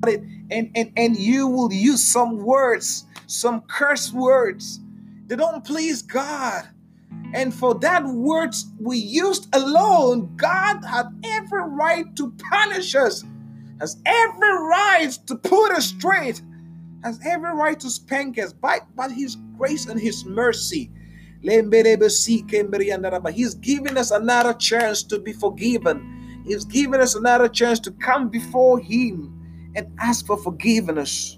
it, and you will use some words, some curse words. They don't please God. And for that words we used alone, God had every right to punish us, has every right to put us straight, has every right to spank us by His grace and His mercy. He's giving us another chance to be forgiven. He's giving us another chance to come before Him and ask for forgiveness.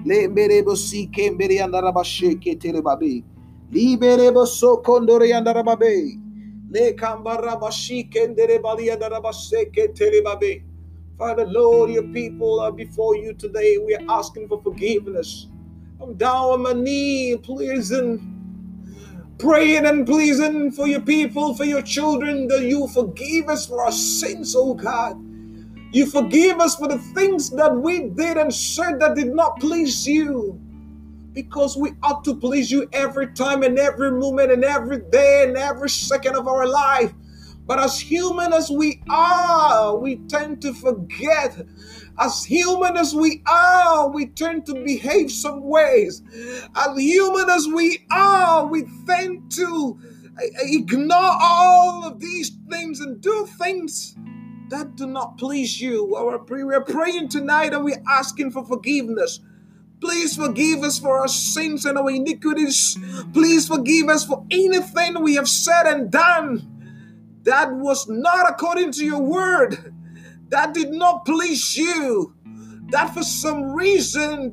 Liberebo so kondore andarababe. Le kambarabashi kendere bali andarabaseke telebabe. Father, Lord, your people are before you today. We are asking for forgiveness. I'm down on my knee, pleasing, praying and pleasing for your people, for your children, that you forgive us for our sins, oh God. You forgive us for the things that we did and said that did not please you. Because we ought to please you every time and every moment and every day and every second of our life. But as human as we are, we tend to forget. As human as we are, we tend to behave some ways. As human as we are, we tend to ignore all of these things and do things that do not please you. We're praying tonight and we're asking for forgiveness. Please forgive us for our sins and our iniquities. Please forgive us for anything we have said and done that was not according to your word, that did not please you, that for some reason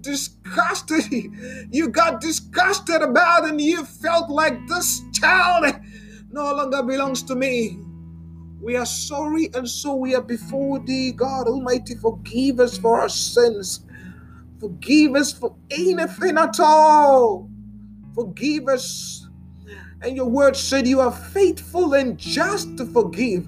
you got disgusted about, and you felt like this child no longer belongs to me. We are sorry, and so we are before thee, God Almighty. Forgive us for our sins. Forgive us for anything at all. Forgive us. And your word said you are faithful and just to forgive.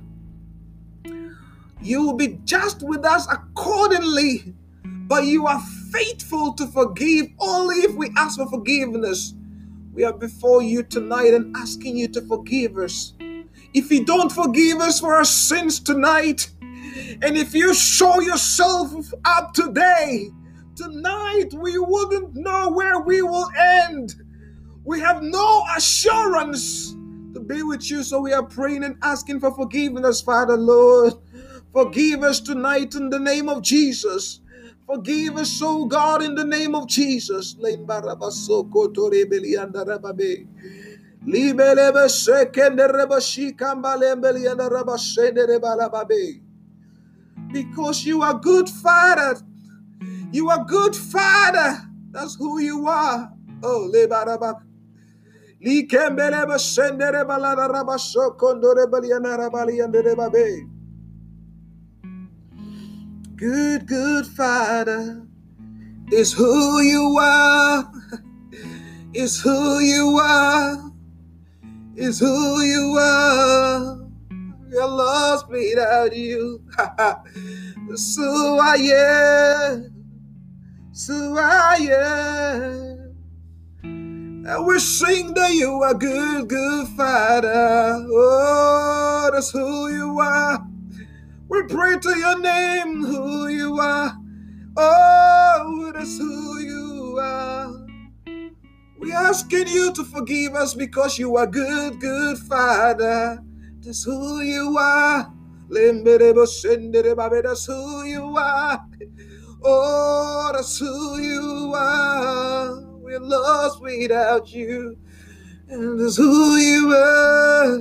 You will be just with us accordingly, but you are faithful to forgive only if we ask for forgiveness. We are before you tonight and asking you to forgive us. If you don't forgive us for our sins tonight, and if you show yourself up today, tonight we wouldn't know where we will end. We have no assurance to be with you, so we are praying and asking for forgiveness, Father, Lord. Forgive us tonight in the name of Jesus. Forgive us, oh God, in the name of Jesus. Because you are good, Father. You are good, Father. That's who you are. Oh, good Father is who you are. Is who you are. Is who you are. You're lost without you. So I am. So I am. And we sing that you are good Father. Oh, that's who you are. We pray to your name, who you are. Oh, that's who you are. We're asking you to forgive us because you are good Father. That's who you are. That's who you are. Oh, that's who you are. We're lost without you. And that's who you are.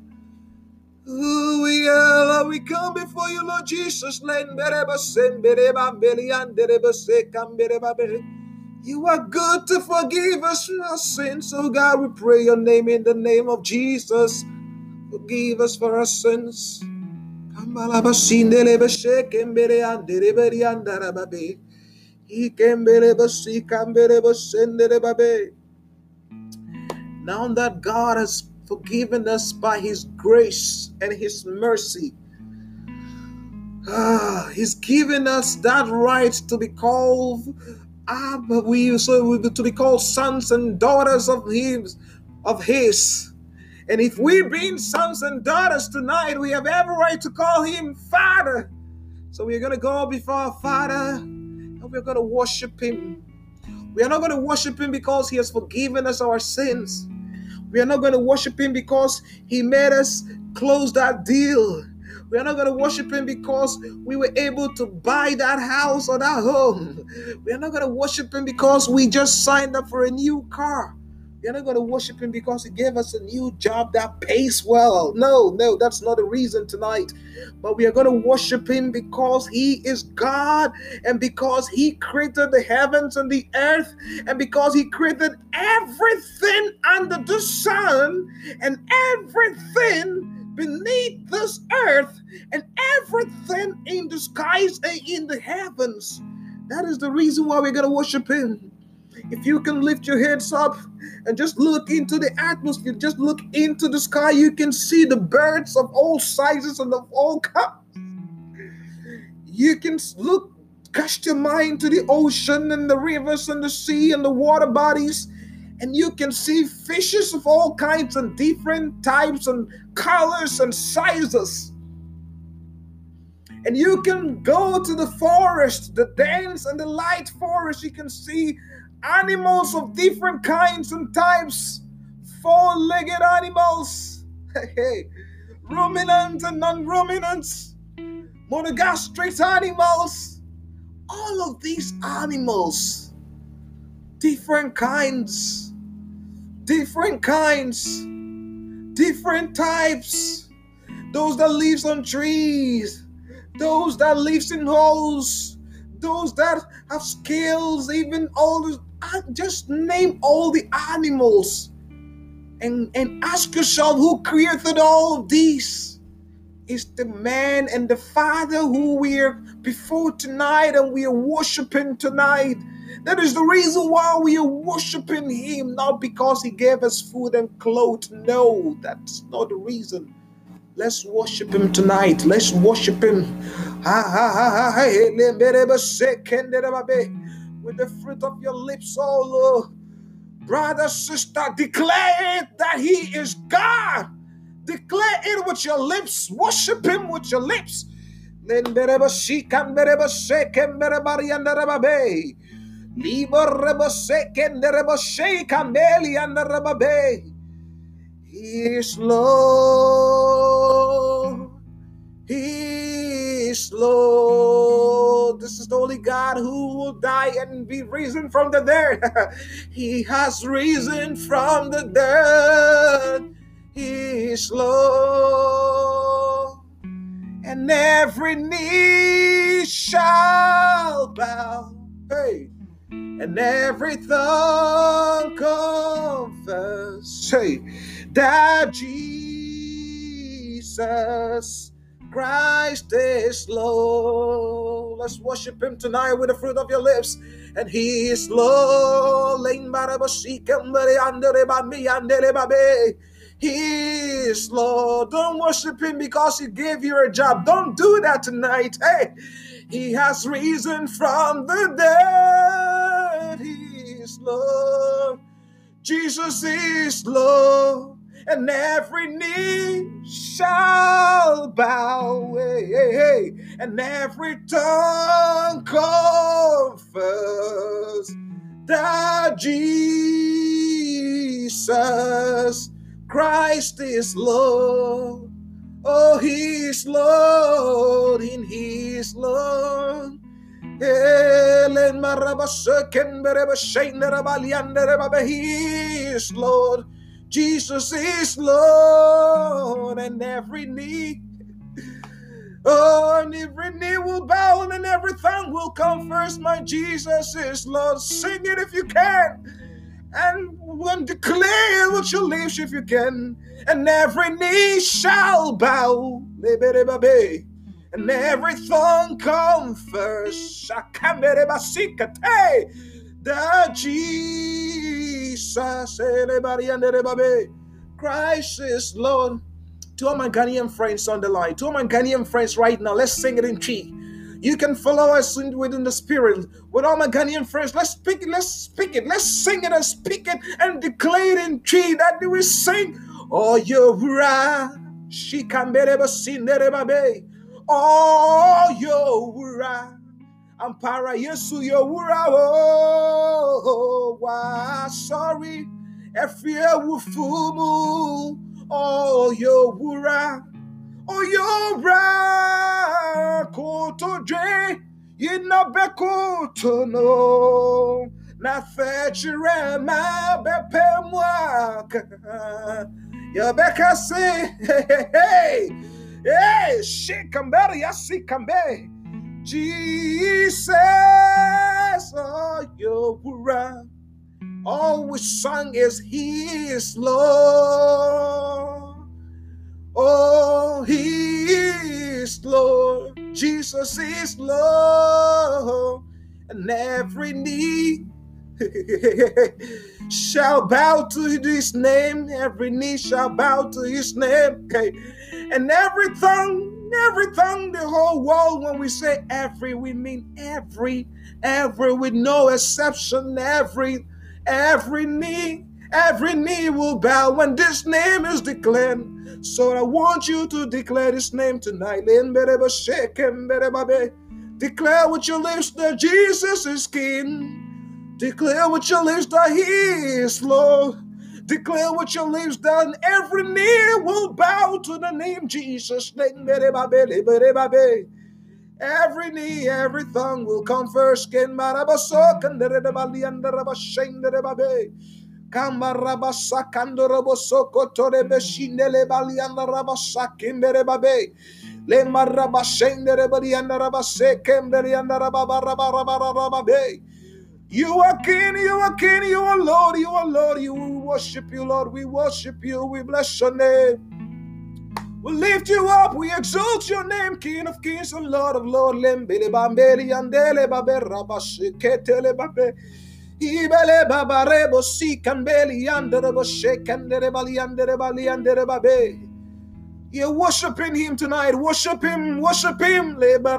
Who we are, Lord, we come before you, Lord Jesus. You are good to forgive us our sins. So God, we pray your name in the name of Jesus. Forgive us for our sins. Now that God has forgiven us by His grace and His mercy, He's given us that right to be called to be called sons and daughters of His. And if we being sons and daughters tonight, we have every right to call Him Father. So we're going to go before our Father And we're going to worship him. We are not going to worship him because he has forgiven us our sins. We are not going to worship him because he made us close that deal. We are not going to worship him because we were able to buy that house or that home. We are not going to worship him because we just signed up for a new car. We are not going to worship him because he gave us a new job that pays well. No, that's not the reason tonight. But we are going to worship him because he is God, and because he created the heavens and the earth, and because he created everything under the sun and everything beneath this earth and everything in the skies and in the heavens. That is the reason why we're going to worship him. If you can lift your heads up and just look into the atmosphere, just look into the sky, you can see the birds of all sizes and of all kinds. You can cast your mind to the ocean and the rivers and the sea and the water bodies, and you can see fishes of all kinds and different types and colors and sizes. And you can go to the forest, the dense and the light forest. You can see animals of different kinds and types, four-legged animals, ruminants and non-ruminants, monogastric animals, all of these animals, different kinds, different types, those that lives on trees, those that lives in holes, those that have scales, even all the, just name all the animals and ask yourself, who created all of these? It's the man and the Father who we are before tonight and we are worshiping tonight. That is the reason why we are worshiping him, not because he gave us food and clothes. No, that's not the reason. Let's worship him tonight. Let's worship him. With the fruit of your lips, oh Lord. Brother, sister, declare it that he is God. Declare it with your lips. Worship him with your lips. He is Lord. He is Lord. This is the only God who will die and be risen from the dead. He has risen from the dead. He is Lord. And every knee shall bow. Hey. And every tongue confess, say, that Jesus Christ is Lord. Let's worship him tonight with the fruit of your lips. And he is Lord. He is Lord. Don't worship him because he gave you a job. Don't do that tonight. Hey, he has risen from the dead. He is Lord. Jesus is Lord. And every knee shall bow. Hey, hey, hey. And every tongue confess that Jesus Christ is Lord. Oh, he is Lord, and he is Lord. He is Lord. Jesus is Lord, and every knee, and every knee will bow, and every tongue will confess, my Jesus is Lord. Sing it if you can, and declare it with your lips if you can. And every knee shall bow, and every tongue confess that Jesus Christ is Lord. To all my Ghanaian friends on the line, to all my Ghanaian friends right now, let's sing it in Chi. You can follow us within the spirit. With all my Ghanaian friends, let's speak it, let's speak it, let's sing it and speak it and declare it in Chi. That do we sing? Oh, you're right. Oh, you're right. Ampara Yesu Yowura o wa sorry Efie wufumu o Yowura o Yowura koto dre yina bekoto no na fetchire ma bepe mwaka ya beka say hey shikambere yasi kambe Jesus, oh, Yowura. All we sung is He is Lord. Oh, He is Lord. Jesus is Lord. And every knee shall bow to His name. Every knee shall bow to His name. Okay. And every tongue, the whole world, when we say every, we mean every, with no exception, every knee will bow when this name is declared. So I want you to declare this name tonight. Declare with your lips that Jesus is King. Declare with your lips that He is Lord. Declare with your lips that every knee will bow to the name Jesus. Every knee, every tongue will confess. You are King, you are King, you are Lord, you are Lord. We worship you, Lord. We worship you. We bless your name. We lift you up. We exalt your name, King of Kings and Lord of Lords. You're worshiping Him tonight. Worship Him. Worship Him.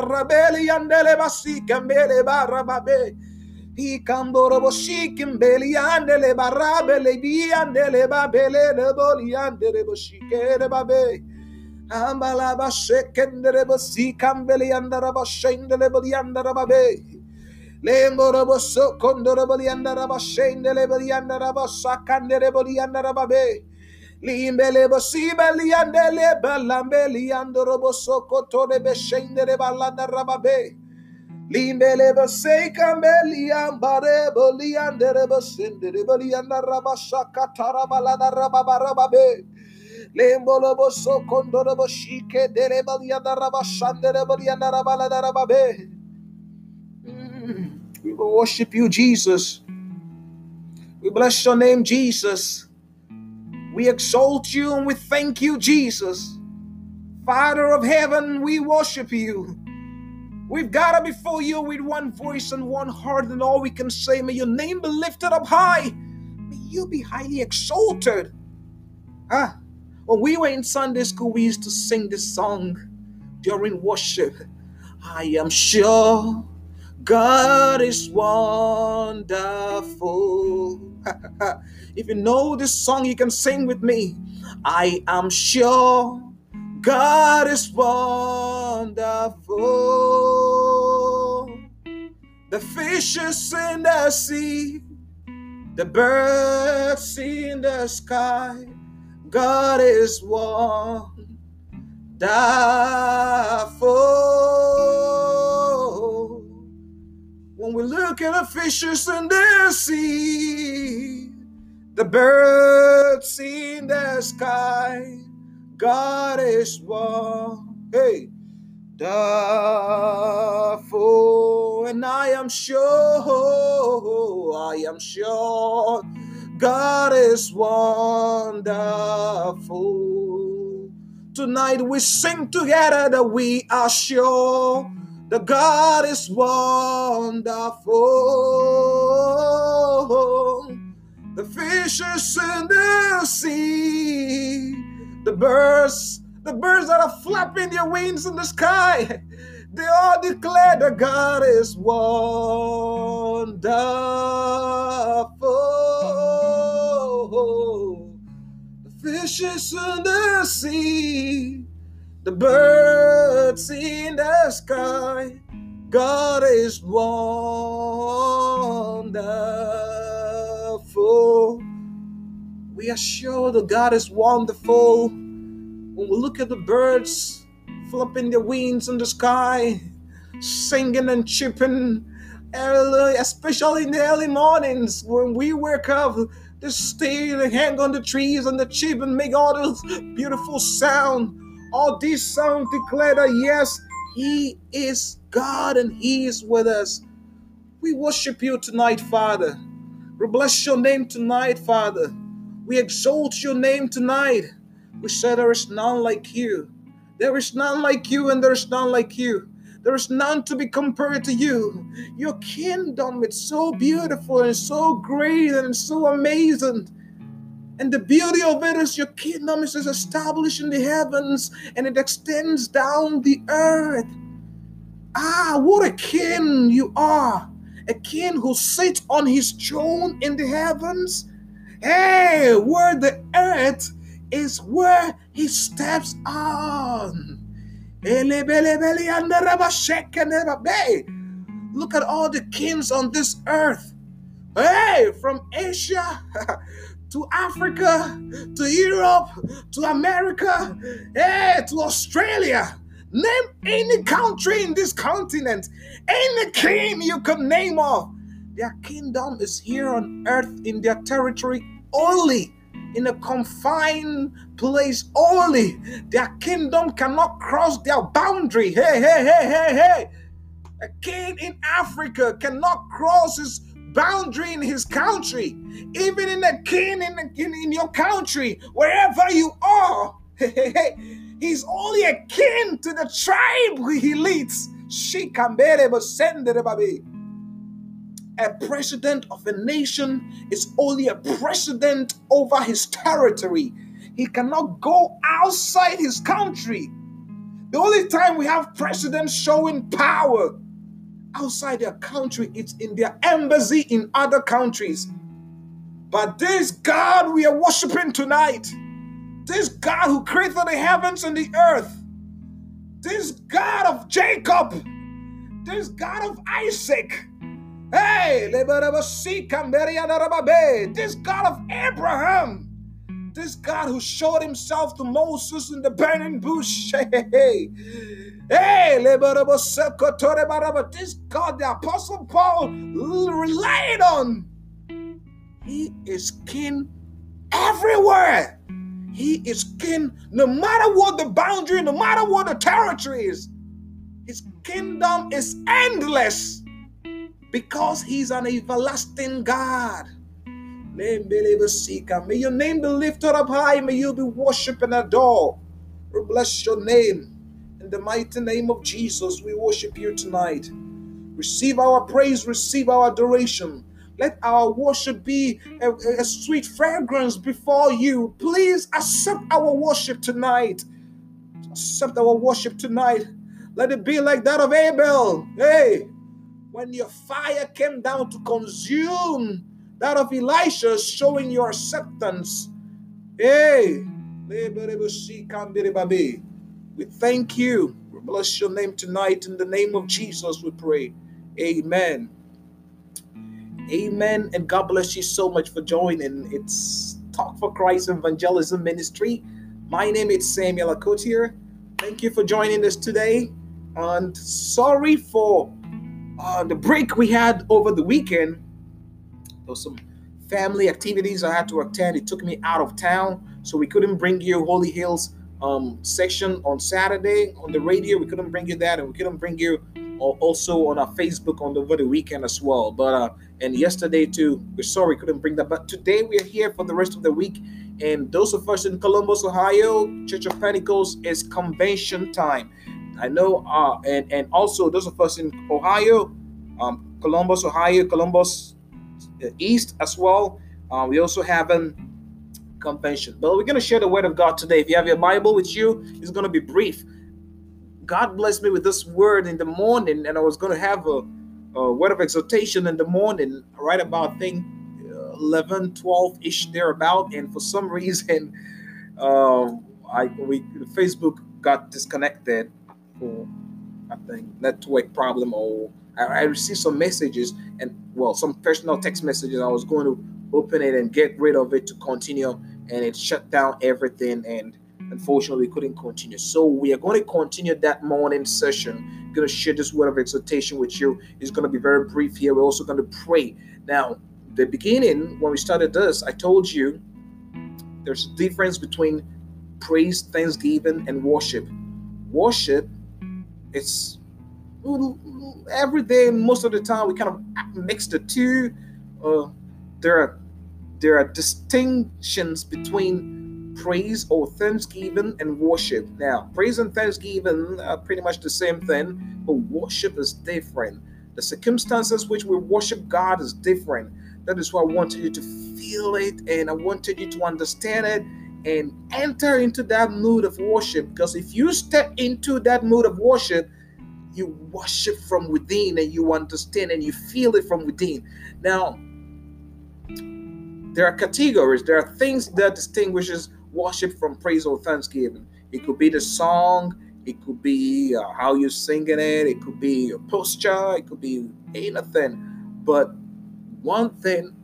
He camboro shikim beli andele barabele bi andele babele de boli andele boshike de babe ambala ba shekendele bosi kambeli andara ba shendele boli andara babe lemboro boso kondoro boli andara ba shendele boli andara ba sakandele boli andara babe limbele bosi beli andele balambeli andoro boso kotore be shendele balandara babe Limbele basay kambeli ambare boli andere basindere boli andara basaka tarabala darababa be lembolo boso kondoro boshike dere boli andara basandere boli andara bala darababe. We will worship you, Jesus. We bless your name, Jesus. We exalt you and we thank you, Jesus. Father of heaven, we worship you. We've gathered before you with one voice and one heart, and all we can say, may your name be lifted up high. May you be highly exalted. When we were in Sunday school, we used to sing this song during worship. I am sure God is wonderful. If you know this song, you can sing with me. I am sure God is wonderful. The fishes in the sea, the birds in the sky, God is wonderful. When we look at the fishes in the sea, the birds in the sky, God is wonderful. And I am sure God is wonderful. Tonight we sing together that we are sure that God is wonderful. The fishes in the sea, the birds that are flapping their wings in the sky, they all declare that God is wonderful. The fishes in the sea, the birds in the sky, God is wonderful. We are sure that God is wonderful. When we look at the birds flapping their wings in the sky, singing and chirping, especially in the early mornings when we wake up, they stay and hang on the trees and the chip and make all this beautiful sound. All these sounds declare that yes, He is God and He is with us. We worship You tonight, Father. We bless Your name tonight, Father. We exalt Your name tonight. We say there is none like You. There is none like You and there is none like You. There is none to be compared to You. Your kingdom is so beautiful and so great and so amazing. And the beauty of it is Your kingdom is established in the heavens and it extends down the earth. Ah, what a king You are. A king who sits on His throne in the heavens. Hey, where the earth is where He steps on. Look at all the kings on this earth. Hey, from Asia to Africa, to Europe, to America, hey, to Australia. Name any country in this continent, any king you could name of. Their kingdom is here on earth in their territory only, in a confined place only. Their kingdom cannot cross their boundary. Hey. A king in Africa cannot cross his boundary in his country. Even in a king in your country, wherever you are, he's only a king to the tribe he leads. A president of a nation is only a president over his territory. He cannot go outside his country. The only time we have presidents showing power outside their country, it's in their embassy in other countries. But this God we are worshiping tonight, this God who created the heavens and the earth, this God of Jacob, this God of Isaac, hey, this God of Abraham, this God who showed Himself to Moses in the burning bush, this God the Apostle Paul relied on. He is king everywhere. He is king no matter what the boundary, no matter what the territory is. His kingdom is endless because He's an everlasting God. May Your name be lifted up high. May You be worshipped and adored. We bless Your name. In the mighty name of Jesus, we worship You tonight. Receive our praise, receive our adoration. Let our worship be a sweet fragrance before You. Please accept our worship tonight. Accept our worship tonight. Let it be like that of Abel. Hey, when Your fire came down to consume that of Elisha, showing Your acceptance. Hey, we thank You. We bless Your name tonight. In the name of Jesus, we pray. Amen. Amen. And God bless you so much for joining. It's Talk for Christ Evangelism Ministry. My name is Samuel Akotier. Thank you for joining us today. And sorry for the break we had over the weekend. There was some family activities I had to attend. It took me out of town, so we couldn't bring you Holy Hills section on Saturday on the radio. We couldn't bring you that, and we couldn't bring you also on our Facebook over the weekend as well. But and yesterday too, we're sorry we couldn't bring that. But today we are here for the rest of the week. And those of us in Columbus, Ohio, Church of Pentecost, is convention time. I know, and also those of us in Ohio, Columbus, Ohio, Columbus East as well. We also have a convention. But we're going to share the word of God today. If you have your Bible with you, it's going to be brief. God blessed me with this word in the morning, and I was going to have a word of exhortation in the morning, right about, I think, 11, 12-ish thereabout. And for some reason, Facebook got disconnected. I think, network problem, or I received some messages and, well, some personal text messages. I was going to open it and get rid of it to continue, and it shut down everything, and unfortunately we couldn't continue. So we are going to continue that morning session. I'm going to share this word of exhortation with you. It's going to be very brief here. We're also going to pray. Now, the beginning, when we started this, I told you there's a difference between praise, thanksgiving, and worship. Worship, it's every day, most of the time, we kind of mix the two. There are distinctions between praise or thanksgiving and worship. Now, praise and thanksgiving are pretty much the same thing, but worship is different. The circumstances which we worship God is different. That is why I wanted you to feel it, and I wanted you to understand it and enter into that mood of worship. Because if you step into that mood of worship, you worship from within, and you understand and you feel it from within. Now, there are categories. There are things that distinguishes worship from praise or thanksgiving. It could be the song. It could be how you're singing it. It could be your posture. It could be anything. But one thing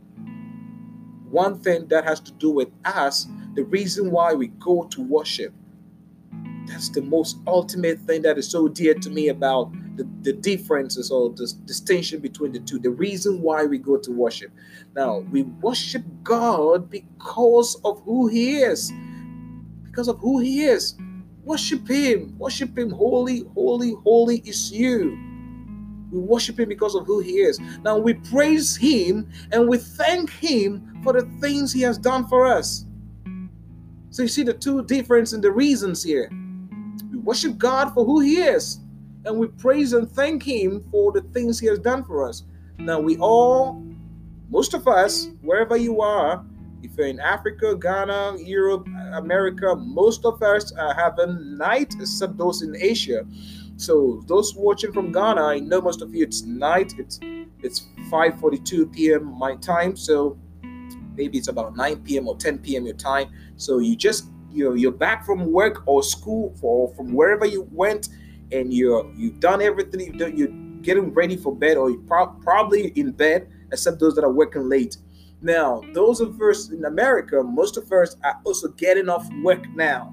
that has to do with us, the reason why we go to worship, that's the most ultimate thing that is so dear to me about the differences or the distinction between the two. The reason why we go to worship. Now, we worship God because of who He is. Because of who He is. Worship Him. Worship Him. Holy, holy, holy is you. We worship Him because of who He is. Now, we praise Him and we thank Him for the things He has done for us. So you see the two differences in the reasons here. We worship God for who He is, and we praise and thank Him for the things He has done for us. Now, most of us, wherever you are, if you're in Africa, Ghana, Europe, America, most of us are having night, except those in Asia. So those watching from Ghana, I know most of you, it's night. It's 5:42 p.m. my time, so maybe it's about 9 p.m. or 10 p.m. your time. So you're back from work or school or from wherever you went, and you've done everything. You're getting ready for bed, or you're probably in bed, except those that are working late. Now, those of us in America, most of us are also getting off work now.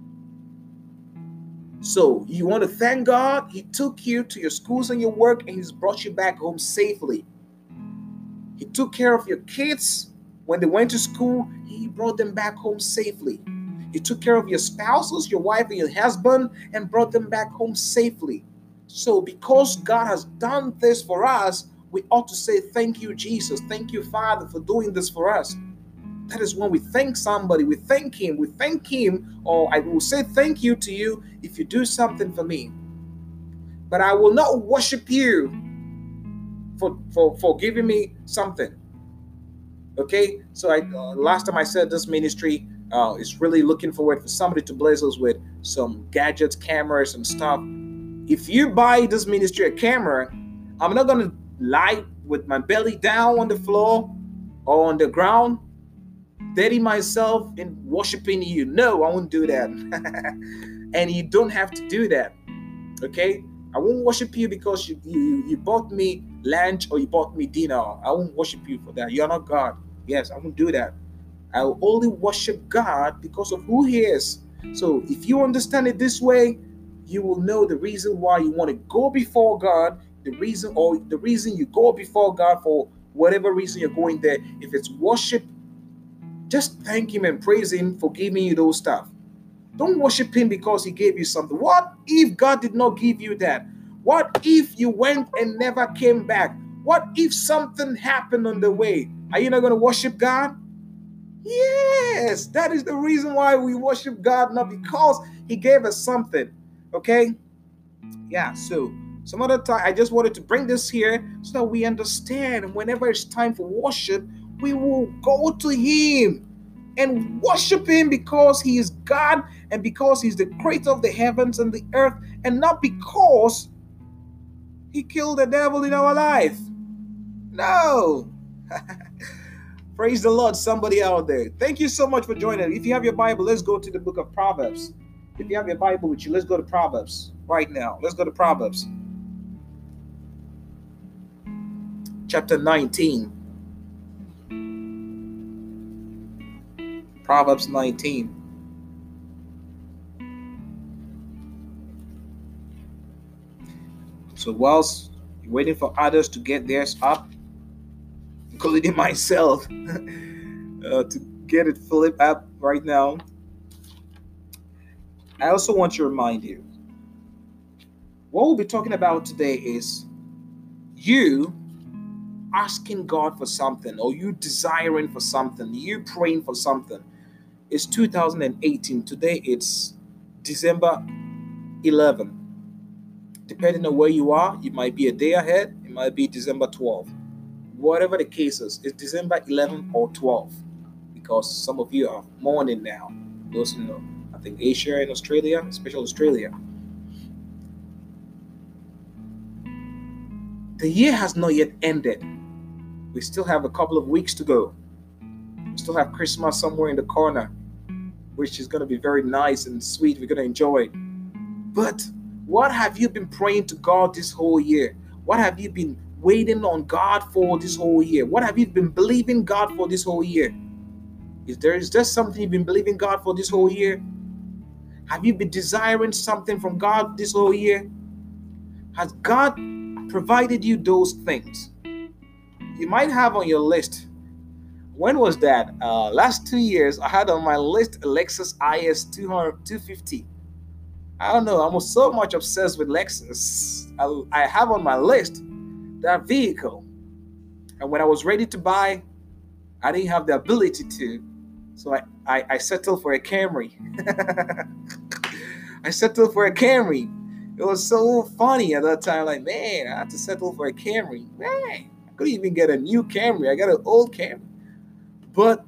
So you want to thank God. He took you to your schools and your work, and He's brought you back home safely. He took care of your kids when they went to school. He brought them back home safely. He took care of your spouses, your wife and your husband, and brought them back home safely. So because God has done this for us, we ought to say, thank you, Jesus. Thank you, Father, for doing this for us. That is when we thank somebody. We thank Him. We thank Him. Or I will say thank you to you if you do something for me. But I will not worship you for giving me something. Okay? So last time I said this ministry is really looking forward for somebody to bless us with some gadgets, cameras, and stuff. If you buy this ministry a camera, I'm not going to lie with my belly down on the floor or on the ground, dirty myself in worshiping you. No, I won't do that. And you don't have to do that. Okay? I won't worship you because you bought me lunch or you bought me dinner. I won't worship you for that. You're not God. Yes, I won't do that. I will only worship God because of who He is. So if you understand it this way, you will know the reason why you want to go before God, the reason you go before God for whatever reason you're going there. If it's worship, just thank Him and praise Him for giving you those stuff. Don't worship Him because He gave you something. What if God did not give you that? What if you went and never came back? What if something happened on the way? Are you not going to worship God? Yes, that is the reason why we worship God, not because He gave us something. Okay? Yeah, so some other time I just wanted to bring this here so that we understand whenever it's time for worship, we will go to Him and worship Him because He is God and because He's the creator of the heavens and the earth, and not because He killed the devil in our life. No. Praise the Lord, somebody out there. Thank you so much for joining. If you have your Bible, let's go to the book of Proverbs. If you have your Bible with you, let's go to Proverbs. right now. Let's go to Proverbs. Chapter 19. Proverbs 19. So whilst you're waiting for others to get theirs up, including myself, to get it flipped up right now, I also want to remind you, what we'll be talking about today is you asking God for something, or you desiring for something, you praying for something. It's 2018. Today it's December 11th. Depending on where you are, you might be a day ahead, it might be December 12th. Whatever the case is, it's December 11th or 12th, because some of you are mourning now. Those who know, I think Asia and Australia, especially Australia. The year has not yet ended. We still have a couple of weeks to go. We still have Christmas somewhere in the corner, which is going to be very nice and sweet. We're going to enjoy it. But what have you been praying to God this whole year? What have you been waiting on God for this whole year? What have you been believing God for this whole year? Is there something you've been believing God for this whole year? Have you been desiring something from God this whole year? Has God provided you those things? You might have on your list. When was that? Last 2 years, I had on my list a Lexus IS 250. I don't know. I'm so much obsessed with Lexus. I have on my list that vehicle. And when I was ready to buy, I didn't have the ability to. So I settled for a Camry. I settled for a Camry. It was so funny at that time. Like, man, I had to settle for a Camry. Man, I couldn't even get a new Camry. I got an old Camry. But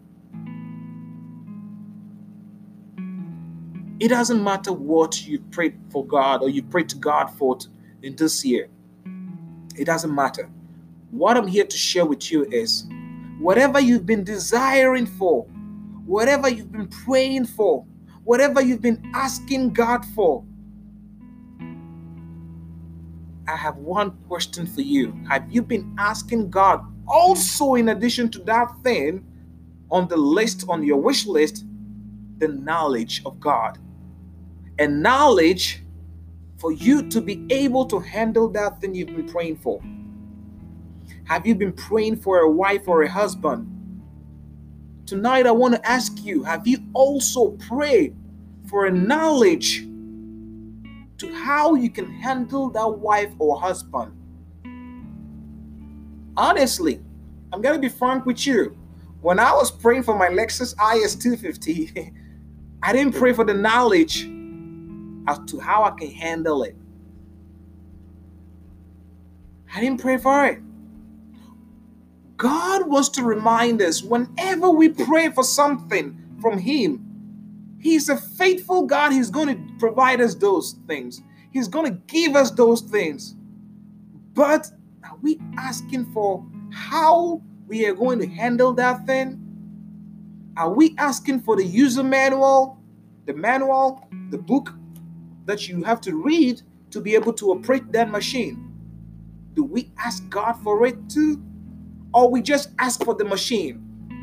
it doesn't matter what you prayed for God or you prayed to God for in this year. It doesn't matter. What I'm here to share with you is whatever you've been desiring for, whatever you've been praying for, whatever you've been asking God for, I have one question for you. Have you been asking God also, in addition to that thing on the list, on your wish list, the knowledge of God? And knowledge for you to be able to handle that thing you've been praying for. Have you been praying for a wife or a husband? Tonight I want to ask you, have you also prayed for a knowledge to how you can handle that wife or husband? Honestly, I'm going to be frank with you. When I was praying for my Lexus IS 250, I didn't pray for the knowledge as to how I can handle it. I didn't pray for it. God wants to remind us whenever we pray for something from Him, He's a faithful God. He's going to provide us those things. He's going to give us those things. But are we asking for how we are going to handle that thing? Are we asking for the user manual, the book that you have to read to be able to operate that machine? Do we ask God for it too? Or we just ask for the machine?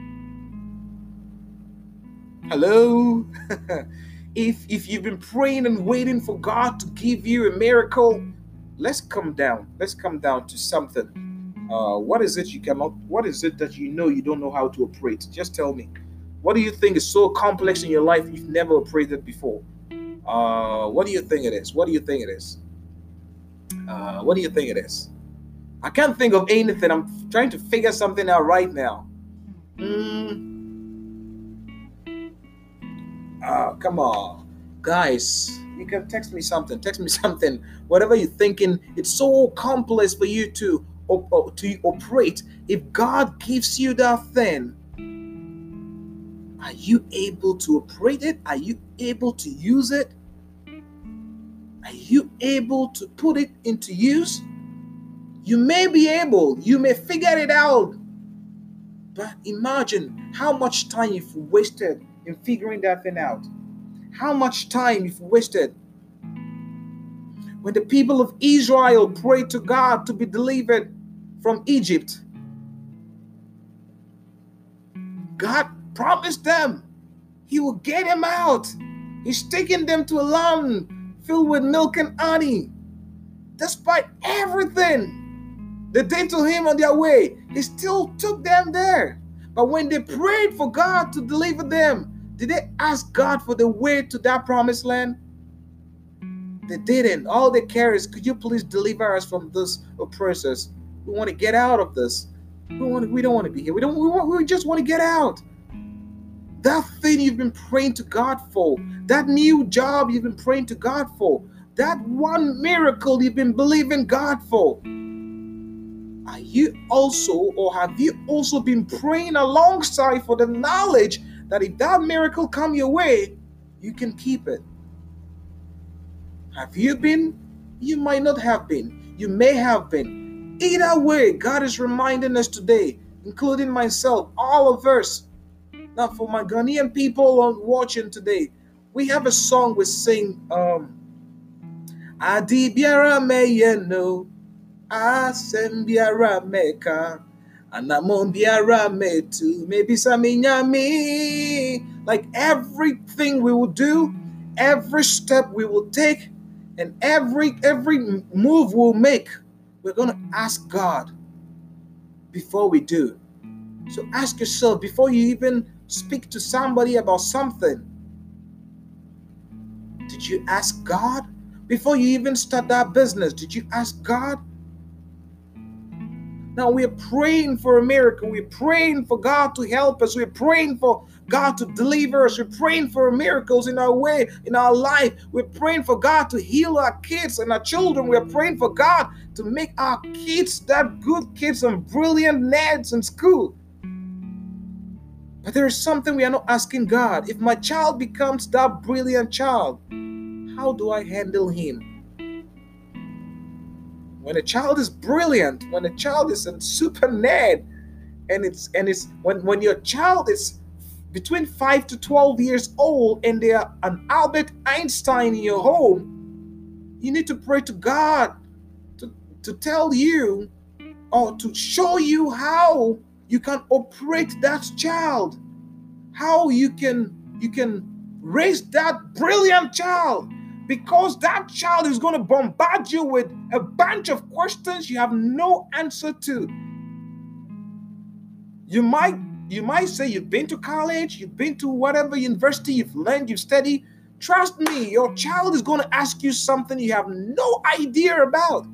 Hello? If you've been praying and waiting for God to give you a miracle, let's come down. Let's come down to something. What is it you come up? What is it that you know you don't know how to operate? Just tell me. What do you think is so complex in your life you've never operated before? What do you think it is? What do you think it is? What do you think it is? I can't think of anything. I'm trying to figure something out right now. Come on. Guys, you can text me something. Whatever you're thinking, it's so complex for you to operate. If God gives you that thing, are you able to operate it? Are you able to use it? Are you able to put it into use? You may be able, you may figure it out, but imagine how much time you've wasted in figuring that thing out. How much time you've wasted. When the people of Israel prayed to God to be delivered from Egypt, God promised them He will get them out. He's taking them to a land filled with milk and honey. Despite everything they did to Him on their way, He still took them there. But when they prayed for God to deliver them, did they ask God for the way to that promised land? They didn't. All they care is, could you please deliver us from this oppressors? We want to get out of this. We don't want to be here. We just want to get out. That thing you've been praying to God for, that new job you've been praying to God for, that one miracle you've been believing God for. Are you also, or have you also been praying alongside for the knowledge that if that miracle come your way, you can keep it? Have you been? You might not have been. You may have been. Either way, God is reminding us today, including myself, all of us. Now, for my Ghanaian people watching today, we have a song we sing. Adi biara meyeno, asem biara meka, anamon biara metu, maybe saminyami. Like everything we will do, every step we will take, and every move we'll make, we're going to ask God before we do. So ask yourself, before you even speak to somebody about something, did you ask God? Before you even start that business, did you ask God? Now we're praying for a miracle. We're praying for God to help us. We're praying for God to deliver us. We're praying for miracles in our way, in our life. We're praying for God to heal our kids and our children. We're praying for God to make our kids that good kids and brilliant nerds in school. But there is something we are not asking God. If my child becomes that brilliant child, how do I handle him? When a child is brilliant, when a child is a super nerd, and when your child is between 5 to 12 years old and they are an Albert Einstein in your home, you need to pray to God to tell you or to show you how you can operate that child, how you can raise that brilliant child, because that child is going to bombard you with a bunch of questions you have no answer to. You might say you've been to college, you've been to whatever university, you've learned, you've studied. Trust me, your child is going to ask you something you have no idea about.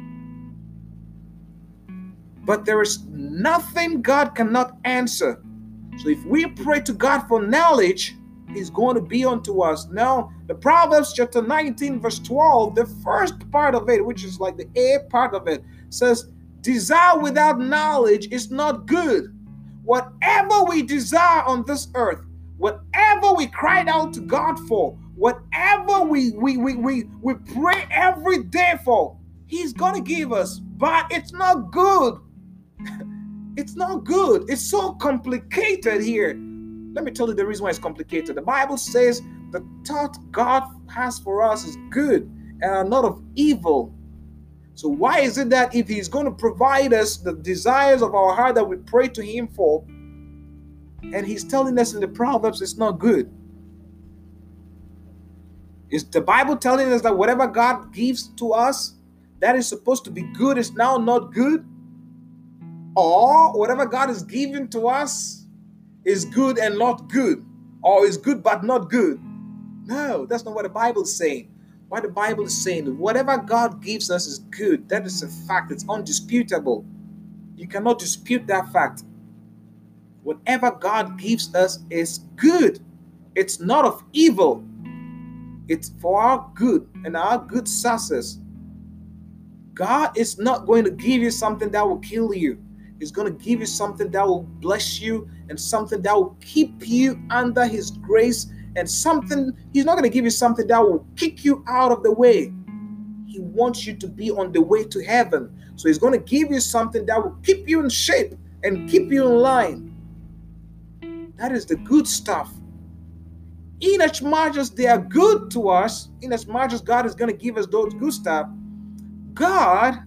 But there is nothing God cannot answer. So if we pray to God for knowledge, He's going to be unto us. Now, the Proverbs chapter 19, verse 12, the first part of it, which is like the A part of it, says, desire without knowledge is not good. Whatever we desire on this earth, whatever we cried out to God for, whatever we pray every day for, He's going to give us. But it's not good. It's not good. It's so complicated here. Let me tell you the reason why it's complicated. The Bible says the thought God has for us is good and are not of evil. So why is it that if He's going to provide us the desires of our heart that we pray to Him for, and He's telling us in the Proverbs it's not good? Is the Bible telling us that whatever God gives to us that is supposed to be good is now not good? Or whatever God is giving to us is good and not good, or is good but not good? No, that's not what the Bible is saying. What the Bible is saying is whatever God gives us is good. That is a fact. It's undisputable. You cannot dispute that fact. Whatever God gives us is good. It's not of evil. It's for our good and our good success. God is not going to give you something that will kill you. He's going to give you something that will bless you and something that will keep you under His grace, and something, He's not going to give you something that will kick you out of the way. He wants you to be on the way to heaven. So He's going to give you something that will keep you in shape and keep you in line. That is the good stuff. in as much as they are good to us, in as much as God is going to give us those good stuff, God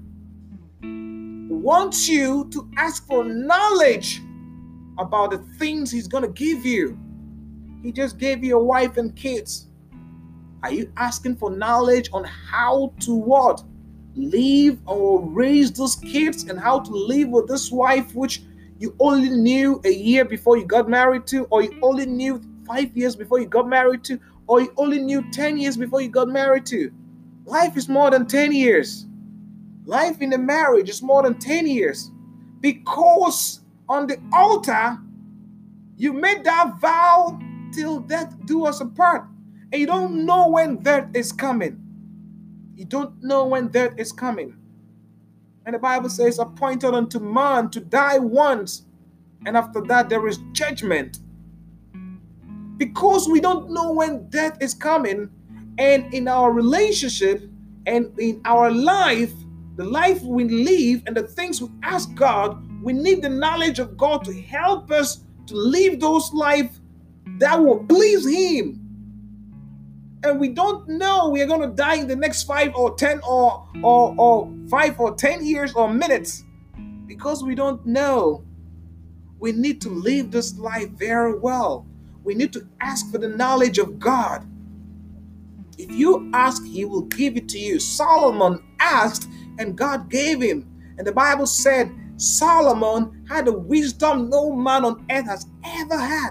wants you to ask for knowledge about the things He's going to give you. He just gave you a wife and kids. Are you asking for knowledge on how to what? Live or raise those kids, and how to live with this wife which you only knew a year before you got married to, or you only knew 5 years before you got married to, or you only knew 10 years before you got married to? Life is more than 10 years. Life in a marriage is more than 10 years. Because on the altar, you made that vow till death do us apart. And you don't know when death is coming. You don't know when death is coming. And the Bible says, appointed unto man to die once, and after that there is judgment. Because we don't know when death is coming, and in our relationship and in our life, the life we live and the things we ask God, we need the knowledge of God to help us to live those lives that will please Him. And we don't know we are going to die in the next 5 or 10 or 5 or 10 years or minutes, because we don't know. We need to live this life very well. We need to ask for the knowledge of God. If you ask, He will give it to you. Solomon asked, and God gave him. And the Bible said Solomon had a wisdom no man on earth has ever had.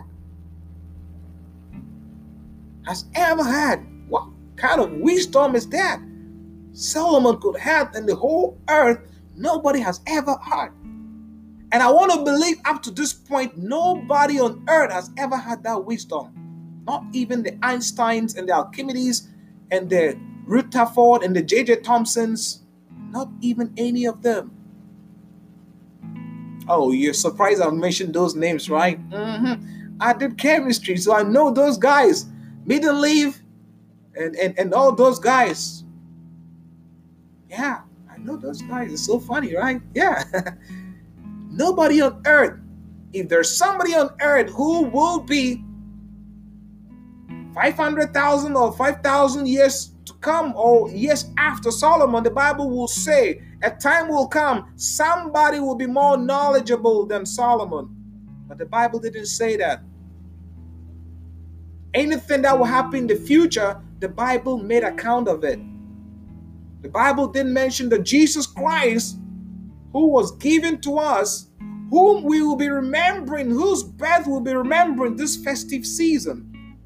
What kind of wisdom is that? Solomon could have in the whole earth, nobody has ever had. And I want to believe up to this point, nobody on earth has ever had that wisdom. Not even the Einsteins and the Archimedes and the Rutherford and the J.J. Thompsons. Not even any of them. Oh, you're surprised I mentioned those names, right? I did chemistry, so I know those guys. Mendeleev and all those guys. Yeah, I know those guys. It's so funny, right? Yeah. Nobody on earth, if there's somebody on earth who will be 500,000 or 5,000 years to come or years after Solomon, the Bible will say a time will come, somebody will be more knowledgeable than Solomon. But the Bible didn't say that. Anything that will happen in the future, the Bible made account of it. The Bible didn't mention that Jesus Christ, who was given to us, whom we will be remembering, whose birth we'll be remembering this festive season.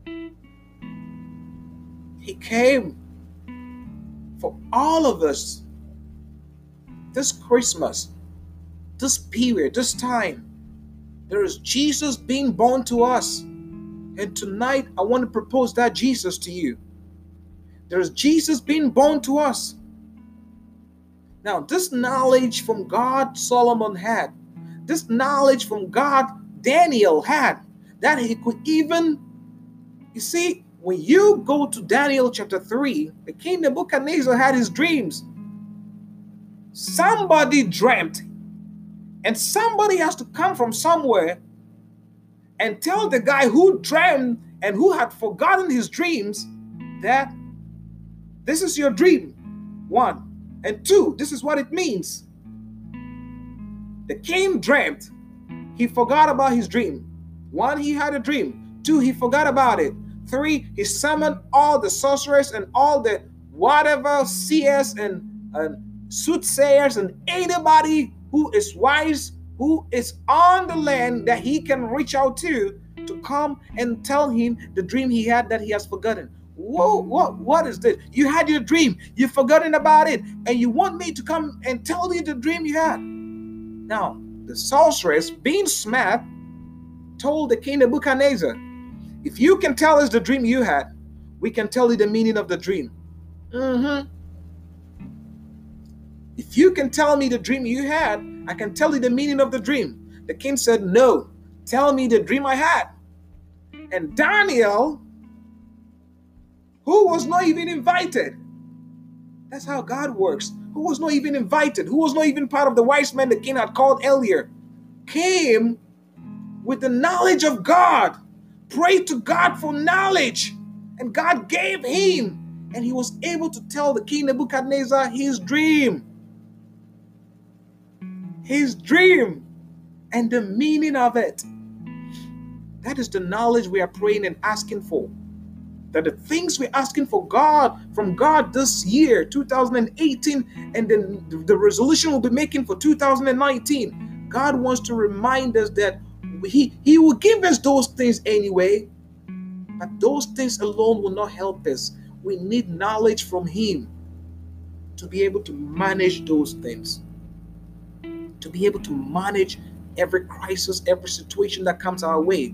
He came for all of us this Christmas, this period, this time. There is Jesus being born to us. And tonight, I want to propose that Jesus to you. There is Jesus being born to us. Now, this knowledge from God Solomon had, this knowledge from God Daniel had, that he could even, you see, when you go to Daniel chapter 3, the king Nebuchadnezzar had his dreams. Somebody dreamt, and somebody has to come from somewhere and tell the guy who dreamt and who had forgotten his dreams that this is your dream, 1. And 2, this is what it means. The king dreamt. He forgot about his dream. 1, he had a dream. 2, he forgot about it. 3, he summoned all the sorcerers and all the whatever seers and soothsayers and anybody who is wise, who is on the land that he can reach out to come and tell him the dream he had that he has forgotten. Whoa, what is this? You had your dream, you've forgotten about it, and you want me to come and tell you the dream you had. Now, the sorceress, being smart, told the king Nebuchadnezzar, if you can tell us the dream you had, we can tell you the meaning of the dream. If you can tell me the dream you had, I can tell you the meaning of the dream. The king said, no, tell me the dream I had. And Daniel, who was not even invited, that's how God works, who was not even invited, who was not even part of the wise men the king had called earlier, came with the knowledge of God, Pray to God for knowledge. And God gave him. And he was able to tell the king Nebuchadnezzar his dream. His dream and the meaning of it. That is the knowledge we are praying and asking for. That the things we're asking for God, from God this year, 2018, and then the resolution we'll be making for 2019, God wants to remind us that He will give us those things anyway, but those things alone will not help us. We need knowledge from Him to be able to manage those things, to be able to manage every crisis, every situation that comes our way.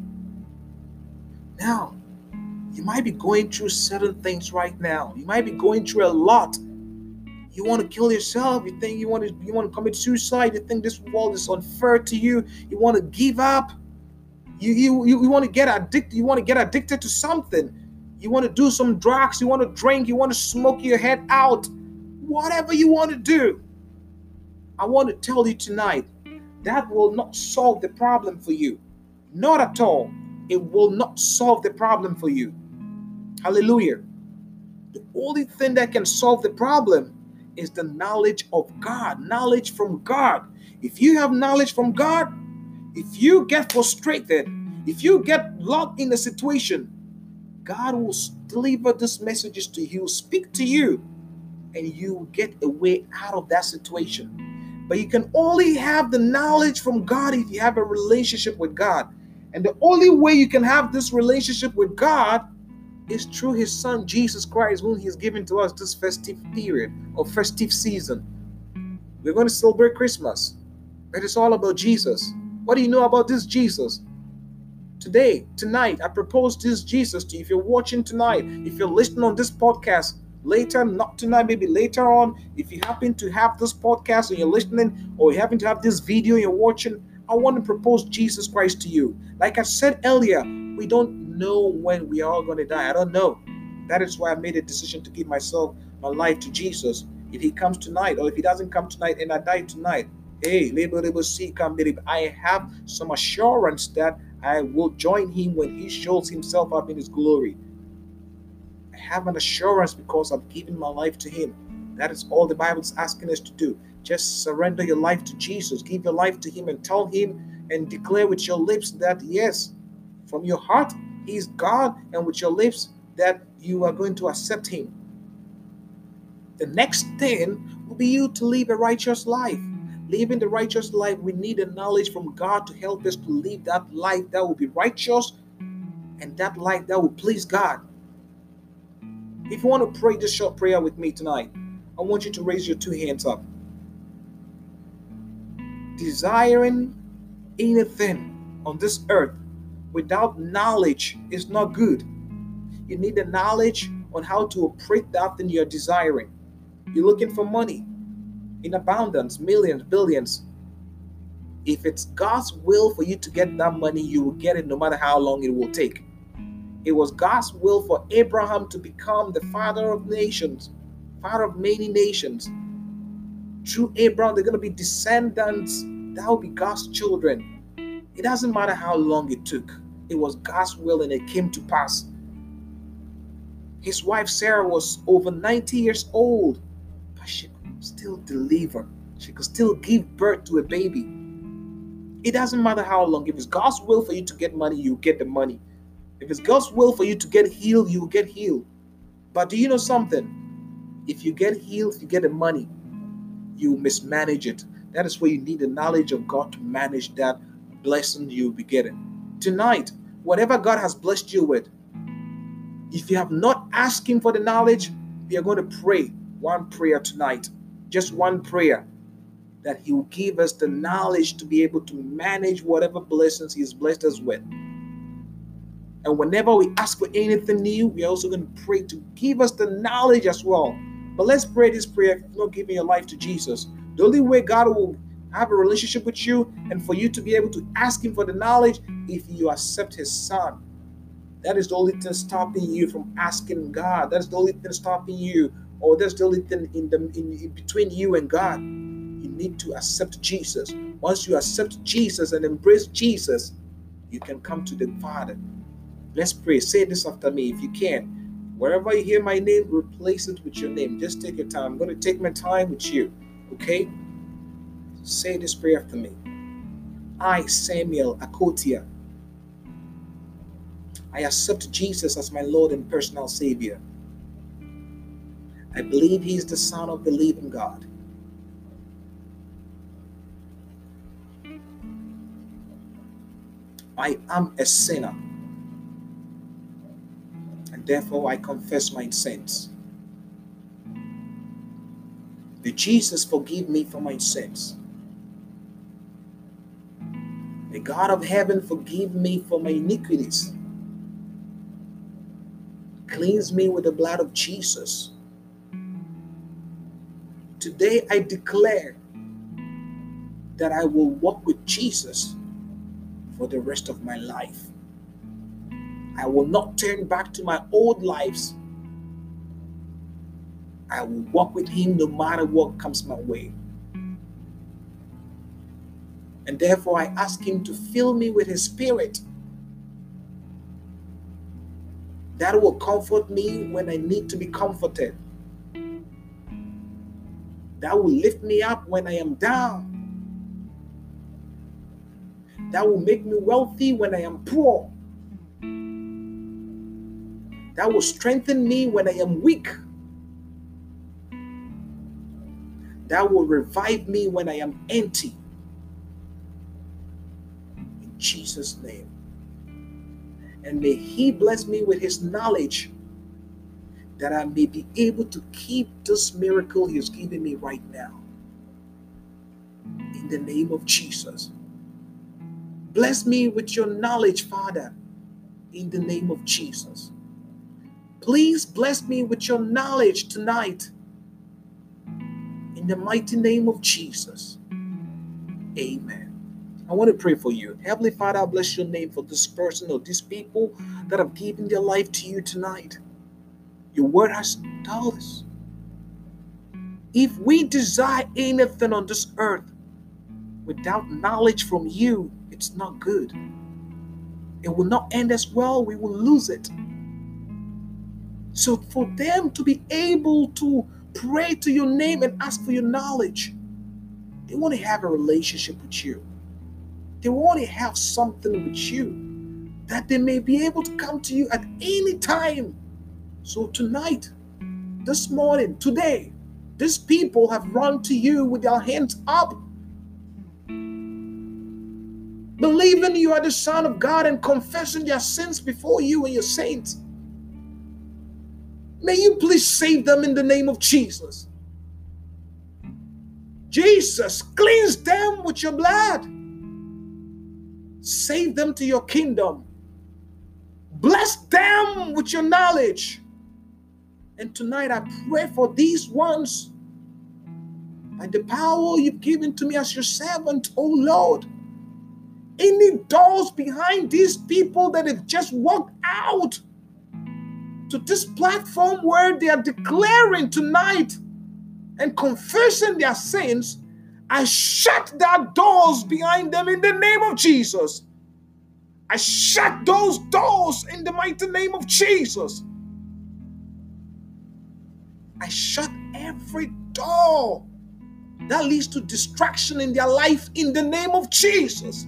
Now, you might be going through certain things right now. You might be going through a lot. You want to kill yourself. You think you want to commit suicide. You think this world is unfair to you. You want to give up. You want to get addicted. You want to get addicted to something. You want to do some drugs. You want to drink. You want to smoke your head out. Whatever you want to do. I want to tell you tonight, that will not solve the problem for you. Not at all. It will not solve the problem for you. Hallelujah. The only thing that can solve the problem is the knowledge of God, knowledge from God. If you have knowledge from God, if you get frustrated, if you get locked in a situation, God will deliver these messages to you, speak to you, and you will get a way out of that situation. But you can only have the knowledge from God if you have a relationship with God. And the only way you can have this relationship with God is through His Son, Jesus Christ, whom He has given to us this festive period or festive season. We're going to celebrate Christmas, but it's all about Jesus. What do you know about this Jesus? Tonight, I propose this Jesus to you. If you're watching tonight, if you're listening on this podcast later, not tonight, maybe later on, if you happen to have this podcast and you're listening, or you happen to have this video and you're watching, I want to propose Jesus Christ to you. Like I said earlier, we don't know when we are all going to die. I don't know. That is why I made a decision to give my life to Jesus. If He comes tonight, or if He doesn't come tonight and I die tonight, I have some assurance that I will join Him when He shows Himself up in His glory. I have an assurance because I've given my life to Him. That is all the Bible is asking us to do. Just surrender your life to Jesus. Give your life to Him and tell Him and declare with your lips that yes, from your heart, He is God, and with your lips that you are going to accept Him. The next thing will be you to live a righteous life. Living the righteous life, we need a knowledge from God to help us to live that life that will be righteous and that life that will please God. If you want to pray this short prayer with me tonight, I want you to raise your two hands up. Desiring anything on this earth without knowledge is not good. You need the knowledge on how to operate that thing you're desiring. You're looking for money in abundance, millions, billions. If it's God's will for you to get that money, you will get it no matter how long it will take. It was God's will for Abraham to become the father of nations, father of many nations. Through Abraham, they're going to be descendants. That will be God's children. It doesn't matter how long it took. It was God's will and it came to pass. His wife Sarah was over 90 years old, but she could still deliver. She could still give birth to a baby. It doesn't matter how long. If it's God's will for you to get money, you get the money. If it's God's will for you to get healed, you will get healed. But do you know something? If you get healed, if you get the money, you mismanage it. That is where you need the knowledge of God to manage that blessing you'll be getting. Tonight, whatever God has blessed you with, if you have not asked Him for the knowledge, we are going to pray one prayer tonight. Just one prayer. That He will give us the knowledge to be able to manage whatever blessings He has blessed us with. And whenever we ask for anything new, we are also going to pray to give us the knowledge as well. But let's pray this prayer if you're not giving your life to Jesus. The only way God will have a relationship with you and for you to be able to ask Him for the knowledge, if you accept His Son. That is the only thing stopping you from asking God. That's the only thing stopping you, or that's the only thing in between you and God. You need to accept Jesus. Once you accept Jesus and embrace Jesus, you can come to the Father. Let's pray. Say this after me if you can. Wherever you hear my name, replace it with your name. Just take your time. I'm going to take my time with you. Okay? Say this prayer after me. I, Samuel Akotia, I accept Jesus as my Lord and personal Savior. I believe He is the Son of the living God. I am a sinner, and therefore I confess my sins. May Jesus forgive me for my sins. May God of heaven forgive me for my iniquities. Cleanse me with the blood of Jesus. Today I declare that I will walk with Jesus for the rest of my life. I will not turn back to my old lives. I will walk with Him no matter what comes my way. And therefore I ask Him to fill me with His Spirit that will comfort me when I need to be comforted. That will lift me up when I am down. That will make me wealthy when I am poor. That will strengthen me when I am weak. That will revive me when I am empty. In Jesus' name. And may He bless me with His knowledge that I may be able to keep this miracle He is giving me right now. In the name of Jesus. Bless me with your knowledge, Father, in the name of Jesus. Please bless me with your knowledge tonight, in the mighty name of Jesus. Amen. I want to pray for you. Heavenly Father, I bless your name for this person or these people that have given their life to you tonight. Your word has told us, if we desire anything on this earth without knowledge from you, it's not good. It will not end as well. We will lose it. So for them to be able to pray to your name and ask for your knowledge, they want to have a relationship with you. They want to have something with you, that they may be able to come to you at any time. So tonight, this morning, today, these people have run to you with their hands up, believing you are the Son of God and confessing their sins before you and your saints. May you please save them in the name of Jesus. Jesus, cleanse them with your blood. Save them to your kingdom. Bless them with your knowledge. And tonight I pray for these ones by the power you've given to me as your servant, oh Lord. Any doors behind these people that have just walked out to this platform where they are declaring tonight and confessing their sins, I shut their doors behind them in the name of Jesus. I shut those doors in the mighty name of Jesus. I shut every door that leads to distraction in their life in the name of Jesus.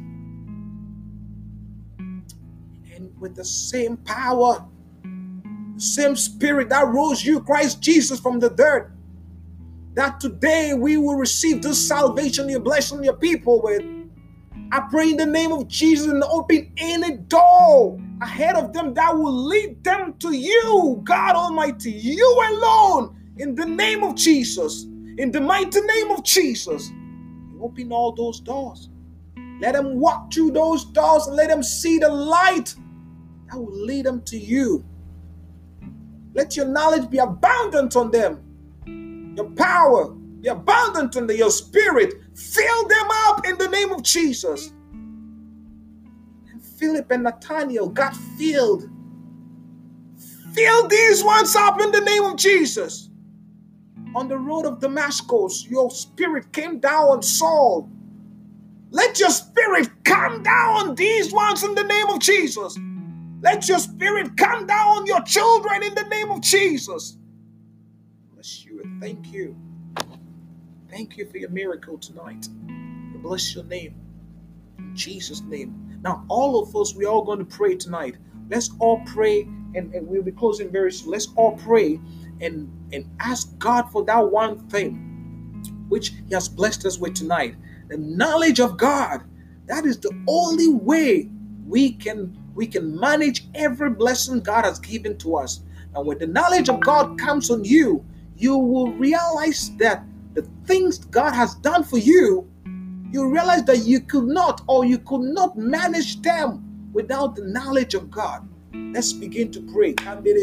And with the same power, the same Spirit that rose you, Christ Jesus, from the dead, that today we will receive this salvation you're blessing your people with. I pray in the name of Jesus and open any door ahead of them that will lead them to you, God Almighty, you alone, in the name of Jesus, in the mighty name of Jesus. Open all those doors. Let them walk through those doors and let them see the light that will lead them to you. Let your knowledge be abundant on them. Your power be abundant on them. Your Spirit, fill them up in the name of Jesus. And Philip and Nathaniel got filled. Fill these ones up in the name of Jesus. On the road of Damascus, your Spirit came down on Saul. Let your Spirit come down on these ones in the name of Jesus. Let your spirit come down on your children in the name of Jesus. Bless you and thank you. Thank you for your miracle tonight. We bless your name. In Jesus' name. Now, all of us, we're all going to pray tonight. Let's all pray, and we'll be closing very soon. Let's all pray and ask God for that one thing which He has blessed us with tonight. The knowledge of God. That is the only way we can manage every blessing God has given to us. And when the knowledge of God comes on you, you will realize that the things God has done for you, you realize that you could not manage them without the knowledge of God. Let's begin to pray.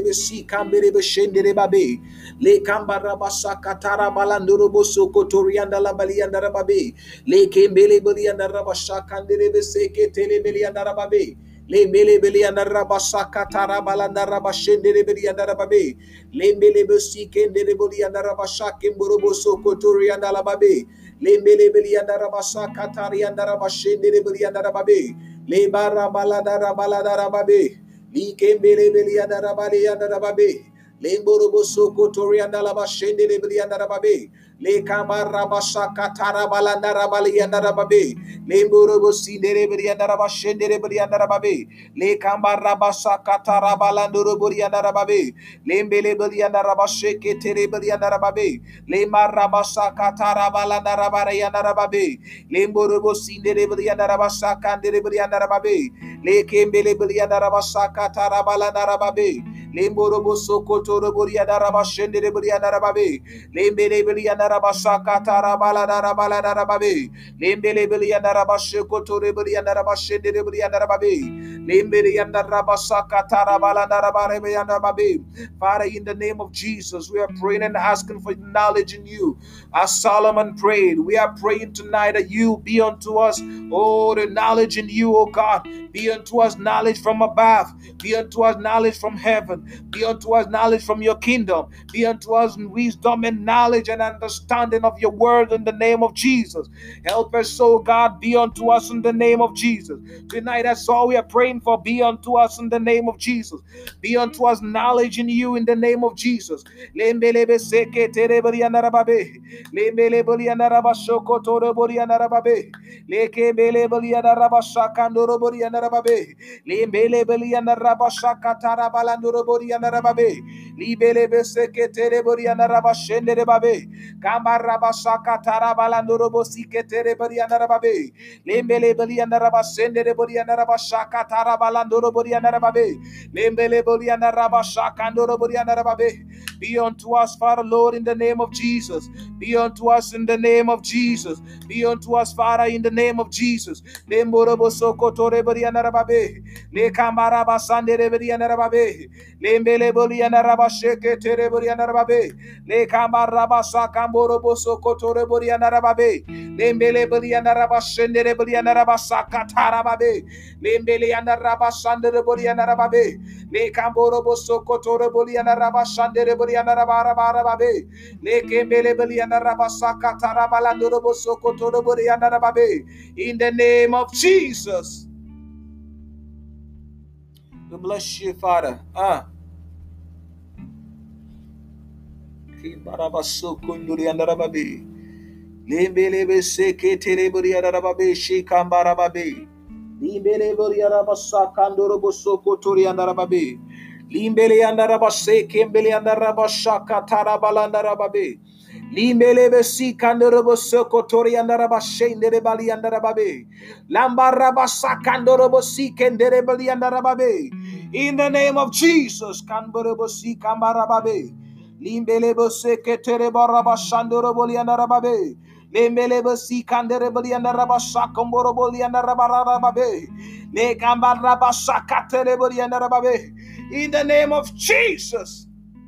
Lembele beli andara basaka tarabalanda rabashendere beli andara babe. Lembele besi kendere beli andara basake mborobo sokotori andala babe. Lembele beli andara basaka tari andara bashendere beli andara babe. Lebara baladara baladara babe. Likembele beli andara bali andara babe. Lemborobo sokotori andala bashendere beli andara babe. Le kamara basaka tarabalanda rabali andara babe. Lemborobo sindere beli andara bashendere beli andara babe. Le kambara basaka tarabalando beli andara babe. Lembele beli andara basheke tere beli andara babe. Le marabasaka tarabalanda rabari andara babe. Lemborobo sindere beli andara basaka andere beli andara babe. Le kembele beli andara basaka tarabalanda rababe. Lemborobo sokotoro beli andara bashendere beli andara babe. Lembele beli andara basaka tarabalanda rabalanda rababe. Lembele beli andara bashekotoro beli andara bashendere beli andara babe. Father, in the name of Jesus, we are praying and asking for knowledge in you. As Solomon prayed, we are praying tonight that you be unto us, oh, the knowledge in you, oh God. Be unto us knowledge from above. Be unto us knowledge from heaven. Be unto us knowledge from your kingdom. Be unto us wisdom and knowledge and understanding of your word in the name of Jesus. Help us, oh God, be unto us in the name of Jesus. Tonight, that's all we are praying for. Be unto us in the name of Jesus. Be unto us knowledge in you in the name of Jesus. Lembelebe seke terebori andarababe. Lembele boli andarabashoko torebori andarababe. Leke bele boli andarabashakandoro bori andarababe. Lembele boli andarabashakatara balandoro bori andarababe. Libelebe seke terebori andarabashendere babe. Kambarabashakatara balandoro bosike terebori andarababe. Lembele boli andarabashendere bori andarabashaka tarabalandoro bori andarababe. Lembele boli andarabashakandoro bori andarababe. Be unto us, Father, Lord, in the name of Jesus. Be unto us in the name of Jesus. Be unto us, Father, in the name of Jesus. Lemborobo sokotore bori andarababe. Le kamaraba sandere bori andarababe. Lembele boli andarabasheke tere bori andarababe. Le kamaraba sakamborobo sokotore bori andarababe. Lembele boli andarabashendere bori andarabasaka tarababe. Lembele andarabashandere bori andarababe. Le kamborobo sokotore bori andarabashandere bori andarabarababe. Le kembele boli andarabasaka tarabalandoro sokotore bori andarababe. In the name of Jesus. We bless you, Father. Kibarabasokunduri andarababe. Lembelebe seke terebori andarababe shikambarababe. Limbele bori andarabasakandoro bosokotori andarababe. Limbele andarabase kembele andarabashaka tarabalandarababe. Limbele besi kandoro bosokotori andarabashende bali andarababe. Lambarabasakandoro bosi kendere bali andarababe. In the name of Jesus, kamboro bosi kambarababe. Limbele boseke terebarabashandoro boli andarababe. Lembele basi kandere bali andarabasha komboro boli andarababe. Le kambarabasha katere bali andarababe. In the name of Jesus.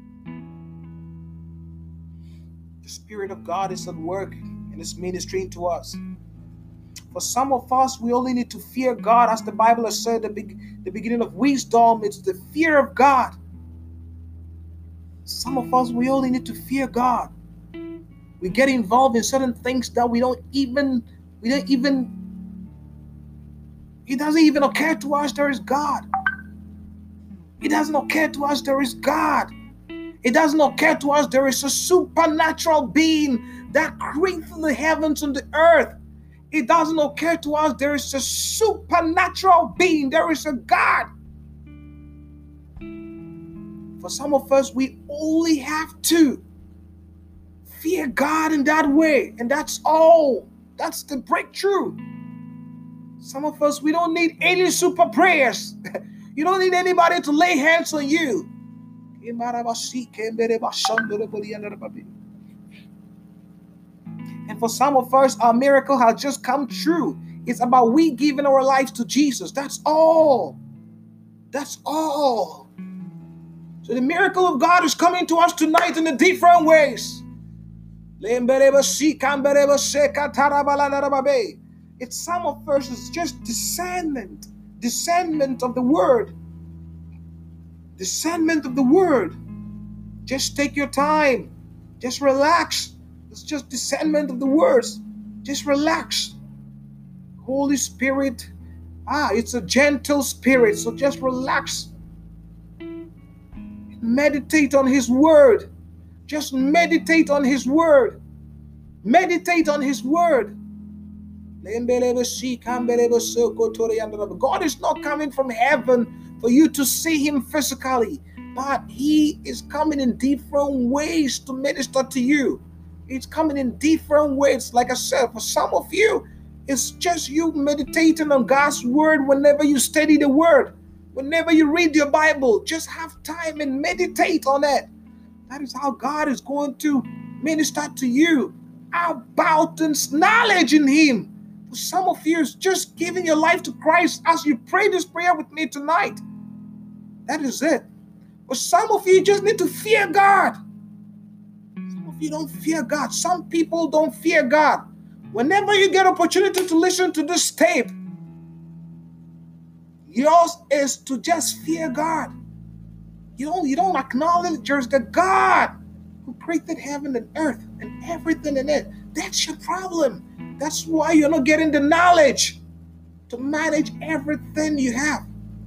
The Spirit of God is at work and is ministering to us. For some of us, we only need to fear God. As the Bible has said, the beginning of wisdom, it's the fear of God. Some of us, we only need to fear God. We get involved in certain things that it doesn't even occur to us there is God. It doesn't occur to us there is God. It doesn't occur to us there is a supernatural being that created the heavens and the earth. It doesn't occur to us there is a supernatural being. There is a God. For some of us, we only have to fear God in that way. And that's all. That's the breakthrough. Some of us, we don't need any super prayers. You don't need anybody to lay hands on you. And for some of us, our miracle has just come true. It's about we giving our lives to Jesus. That's all. That's all. So the miracle of God is coming to us tonight in a different ways. It's some of us is just discernment of the word. Discernment of the word. Just take your time. Just relax. It's just discernment of the words. Just relax. Holy Spirit, it's a gentle spirit, so just relax. Meditate on His word. Just meditate on His word. Meditate on His word. God is not coming from heaven for you to see Him physically, but He is coming in different ways to minister to you. It's coming in different ways. Like I said, for some of you, it's just you meditating on God's word whenever you study the word. Whenever you read your Bible, just have time and meditate on it. That is how God is going to minister to you about His knowledge in Him. For some of you, it's just giving your life to Christ as you pray this prayer with me tonight. That is it. For some of you, just need to fear God. Some of you don't fear God. Some people don't fear God. Whenever you get opportunity to listen to this tape, yours is to just fear God. You don't acknowledge there's the God who created heaven and earth and everything in it. That's your problem. That's why you're not getting the knowledge to manage everything you have.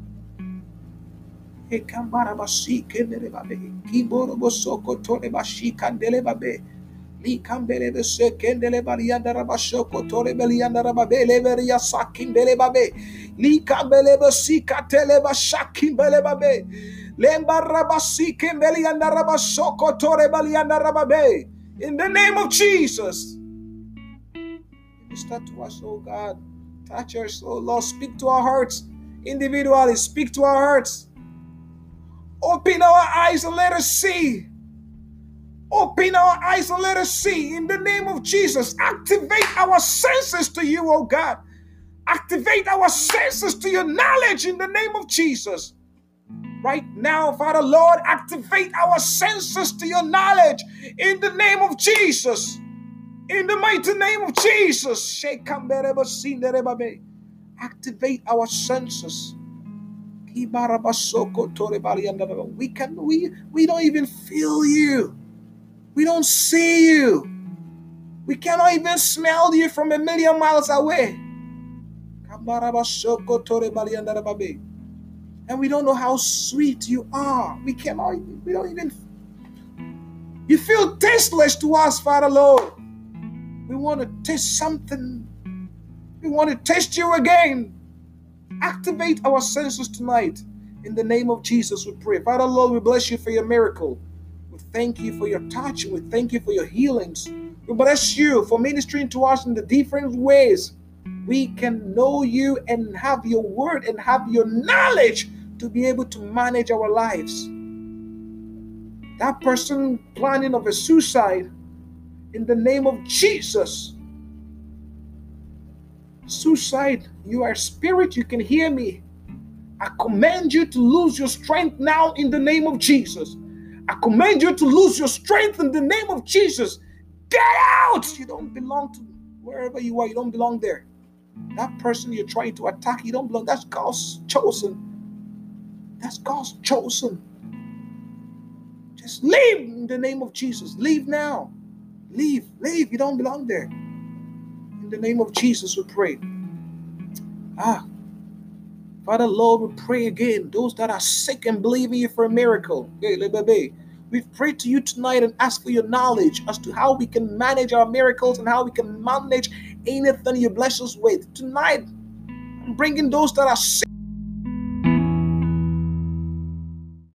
In the name of Jesus, minister to us, oh God. Touch us, oh Lord. Speak to our hearts individually. Speak to our hearts. Open our eyes and let us see. Open our eyes and let us see. In the name of Jesus, activate our senses to you, oh God. Activate our senses to your knowledge in the name of Jesus. Right now, Father Lord, activate our senses to your knowledge in the name of Jesus. In the mighty name of Jesus. Activate our senses. We don't even feel you. We don't see you. We cannot even smell you from a million miles away. And we don't know how sweet you are. We don't even. You feel tasteless to us, Father Lord. We want to taste something. We want to taste you again. Activate our senses tonight. In the name of Jesus, we pray. Father Lord, we bless you for your miracle. We thank you for your touch. We thank you for your healings. We bless you for ministering to us in the different ways we can know you and have your word and have your knowledge to be able to manage our lives. That person planning of a suicide, in the name of Jesus. Suicide, you are a spirit, you can hear me. I command you to lose your strength now in the name of Jesus. I command you to lose your strength in the name of Jesus. Get out! You don't belong to wherever you are. You don't belong there. That person you're trying to attack, you don't belong. That's God's chosen. That's God's chosen. Just leave in the name of Jesus. Leave now. Leave. You don't belong there. In the name of Jesus, we pray. Father, Lord, we pray again, those that are sick and believing you for a miracle. We pray to you tonight and ask for your knowledge as to how we can manage our miracles and how we can manage anything you bless us with. Tonight, I'm bringing those that are sick